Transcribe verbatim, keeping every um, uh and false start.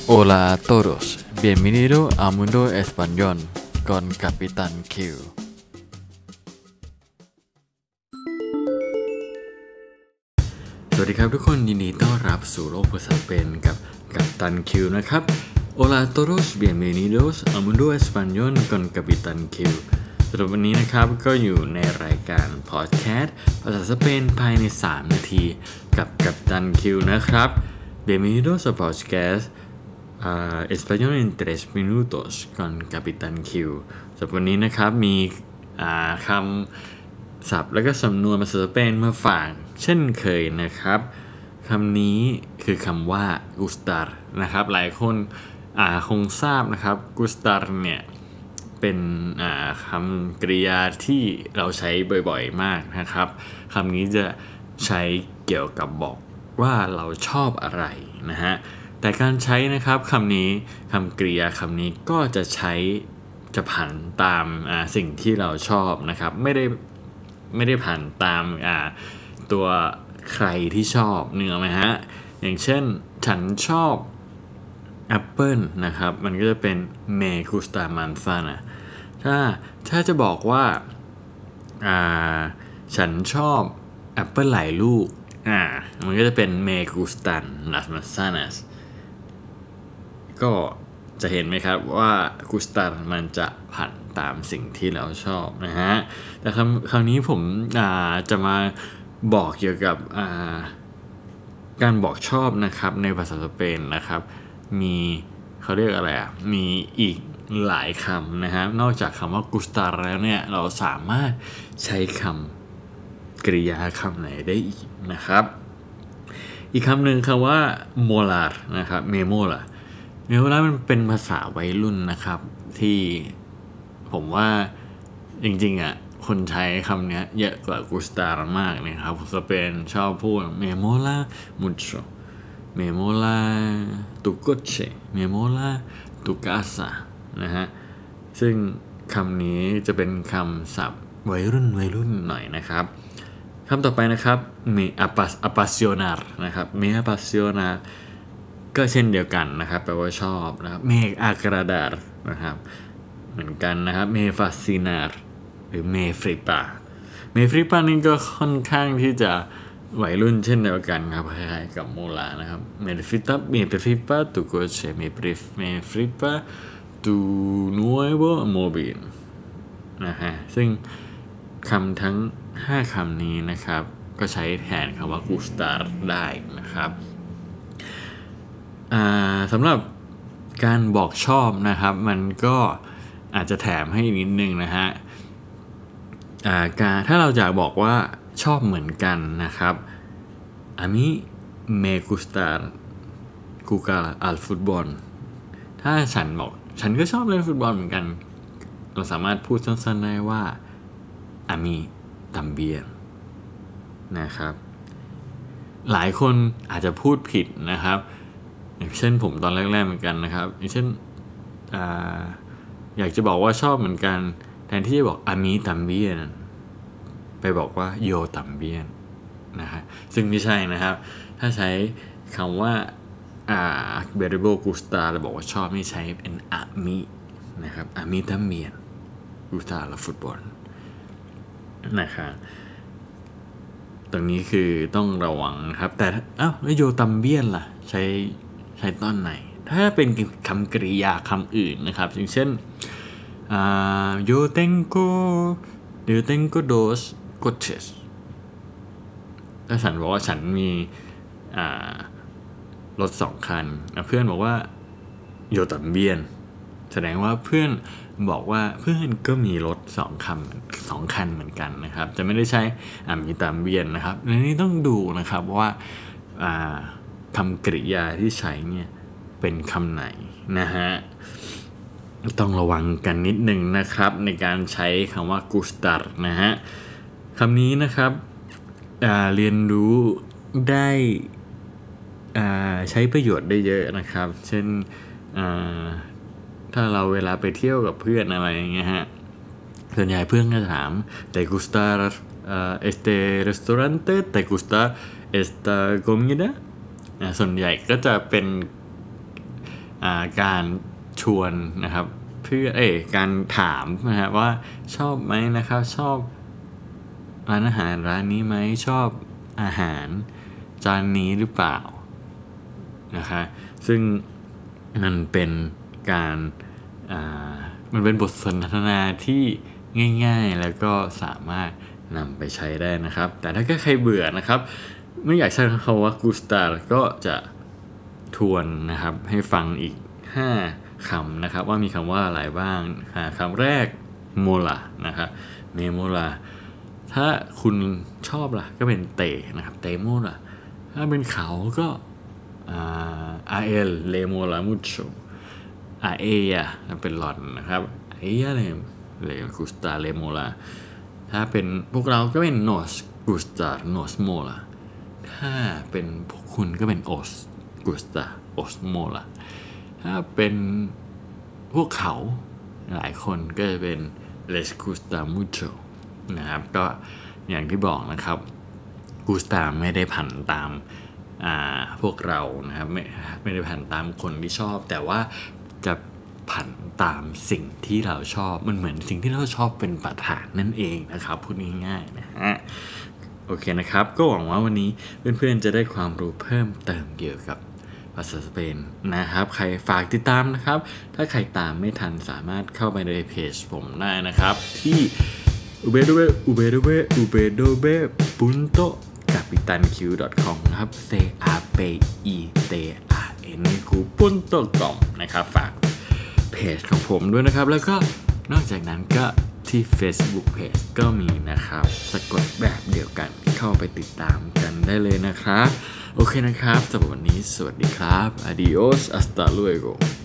Hola a todos, bienvenido a Mundo Español con Capitán Q สวัสดีครับทุกคนยินดีต้อนรับสู่โลกภาษาสเปนกับกัปตันคิวนะครับ Hola a todos, bienvenidos a Mundo Español con Capitán Q สำหรับวันนี้นะครับก็อยู่ในรายการพอดแคสต์ภาษาสเปนภายในสามนาทีกับกัปตันคิวนะครับ Bienvenidos a podcast Uh, Español en tres minutos con Capitán Q สำหรับวันนี้นะครับมีคำศัพท์และก็สำนวนภาษาสเปนมาฝากเช่นเคยนะครับคำนี้คือคำว่า gustar นะครับหลายคนคงทราบนะครับ gustar เนี่ยเป็นคำกริยาที่เราใช้บ่อยๆมากนะครับคำนี้จะใช้เกี่ยวกับบอกว่าเราชอบอะไรนะฮะแต่การใช้นะครับคำนี้คำกริยาคำนี้ก็จะใช้จะผันตามสิ่งที่เราชอบนะครับไม่ได้ไม่ได้ผันตามตัวใครที่ชอบเนื้อไหมฮะอย่างเช่นฉันชอบแอปเปิลนะครับมันก็จะเป็น me gusta manzana ถ้าถ้าจะบอกว่าฉันชอบแอปเปิลหลายลูกอ่ามันก็จะเป็น me gustan las manzanasก็จะเห็นไหมครับว่ากุสตามันจะผันตามสิ่งที่เราชอบนะฮะแต่คำคราวนี้ผมจะมาบอกเกี่ยวกับการบอกชอบนะครับในภาษาสเปนนะครับมีเขาเรียกอะไรอ่ะมีอีกหลายคำนะฮะนอกจากคำว่ากุสตาแล้วเนี่ยเราสามารถใช้คำกริยาคำไหนได้อีกนะครับอีกคำหนึ่งคำว่าโมลาร์นะครับเมโมลาเมโมลามันเป็นภาษาวัยรุ่นนะครับที่ผมว่าจริงๆอ่ะคนใช้คำนี้เยอะกว่ากุสตามากนะครับสเปนชอบพูดเมโมลามุชโชเมโมลาตุโกเชเมโมลาตุกาซานะฮะซึ่งคำนี้จะเป็นคำศัพท์วัยรุ่นวัยรุ่นหน่อยนะครับคำต่อไปนะครับ me apasionar นะครับ me apasionar ก็เช่นเดียวกันนะครับแปลว่าชอบนะครับ me agradar นะครับเหมือนกันนะครับ me fascinar หรือ me flipa me flipa นี่ก็ค่อนข้างที่จะวัยรุ่นเช่นเดียวกันครับคล้ายๆกับโมลานะครับ me flipa me flipa tu coche me me flipa tu nuevo móvil นะฮะซึ่งคำทั้งห้าคำนี้นะครับก็ใช้แทนคำว่า gustar ได้นะครับสำหรับการบอกชอบนะครับมันก็อาจจะแถมให้นิดนึงนะฮะการถ้าเราอยากบอกว่าชอบเหมือนกันนะครับ a mí me gusta jugar al fútbol ถ้าฉันบอกฉันก็ชอบเล่นฟุตบอลเหมือนกันเราสามารถพูดสั้นๆได้ว่า a mí también นะครับหลายคนอาจจะพูดผิดนะครับอย่างเช่นผมตอนแรกๆเหมือนกันนะครับอย่างเช่น อ, อยากจะบอกว่าชอบเหมือนกันแทนที่จะบอก a mí también ไปบอกว่า yo también นะฮะซึ่งไม่ใช่นะครับถ้าใช้คำว่า verbo gustar เราบอกว่าชอบไม่ใช้เป็น a mí นะครับ a mí también gusta el fútbol นะครับตรงนี้คือต้องระวังนะครับแต่อ้าวแล้วโยตัมเบียนล่ะใช้ใช้ตอนไหนถ้าเป็นคำกริยาคำอื่นนะครับอย่างเช่นโยเต็งโกโยเต็งโกโดสโกเชสถ้าฉันบอกว่าฉันมีรถสองคันเพื่อนบอกว่าโยตัมเบียนแสดงว่าเพื่อนบอกว่าเพื่อนก็มีรถสองคันสองคันเหมือนกันนะครับจะไม่ได้ใช้มีตามเบียนนะครับในนี้ต้องดูนะครับว่าคำกริยาที่ใช้เนี่ยเป็นคำไหนนะฮะต้องระวังกันนิดนึงนะครับในการใช้คำว่า gustar นะฮะคำนี้นะครับเรียนรู้ได้ใช้ประโยชน์ได้เยอะนะครับเช่นถ้าเราเวลาไปเที่ยวกับเพื่อนอะไรอย่างเงี้ยฮะส่วนใหญ่เพื่อนก็ถาม ¿te gusta este restaurante? ¿te gusta esta comida? ส่วนใหญ่ก็จะเป็นการชวนนะครับเพื่อเอ้การถามนะครับว่าชอบไหมนะครับชอบร้านอาหารร้านนี้ไหมชอบอาหารจานนี้หรือเปล่านะคะซึ่งมันเป็นการมันเป็นบทสนทนาที่ง่ายๆแล้วก็สามารถนำไปใช้ได้นะครับแต่ถ้าใครเบื่อนะครับไม่อยากใช้คำว่ากูสตาก็จะทวนนะครับให้ฟังอีกห้าคำนะครับว่ามีคำว่าอะไรบ้างคำแรกโมลานะครับเมโมลาถ้าคุณชอบล่ะก็เป็นเตนะครับเตโมล่ะถ้าเป็นเขาก็อาเอลเลโมลามุโชอาเอียเป็นหลอนนะครับอาเอียเลเลกุสตาเลโมลาถ้าเป็นพวกเราก็เป็นโนสกุสตาโนสโมลาถ้าเป็นพวกคุณก็เป็นโอสกุสตาโอสโมลาถ้าเป็นพวกเขาหลายคนก็จะเป็น les gusta mucho นะครับก็อย่างที่บอกนะครับ gusta ไม่ได้ผันตามพวกเรานะครับไม่ไม่ได้ผันตามคนที่ชอบแต่ว่าจะผันตามสิ่งที่เราชอบมันเหมือนสิ่งที่เราชอบเป็นประธานนั่นเองนะครับพูดง่ายๆนะฮะโอเคนะครับก็หวังว่าวันนี้เพื่อนๆจะได้ความรู้เพิ่มเติมเกี่ยวกับภาษาสเปนนะครับใครฝากติดตามนะครับถ้าใครตามไม่ทันสามารถเข้าไปในเพจผมได้นะครับที่ ดับเบิลยู ดับเบิลยู ดับเบิลยู ดับเบิลยู ดับเบิลยู ดับเบิลยู พุนโต กาปิตันคิว ดอท คอม นะครับ c a p i t a n q punto com นะครับฝากเพจของผมด้วยนะครับแล้วก็นอกจากนั้นก็ที่ Facebook Page ก็มีนะครับสะกดแบบเดียวกันเข้าไปติดตามกันได้เลยนะครับโอเคนะครับสำหรับวันนี้สวัสดีครับ adios hasta luego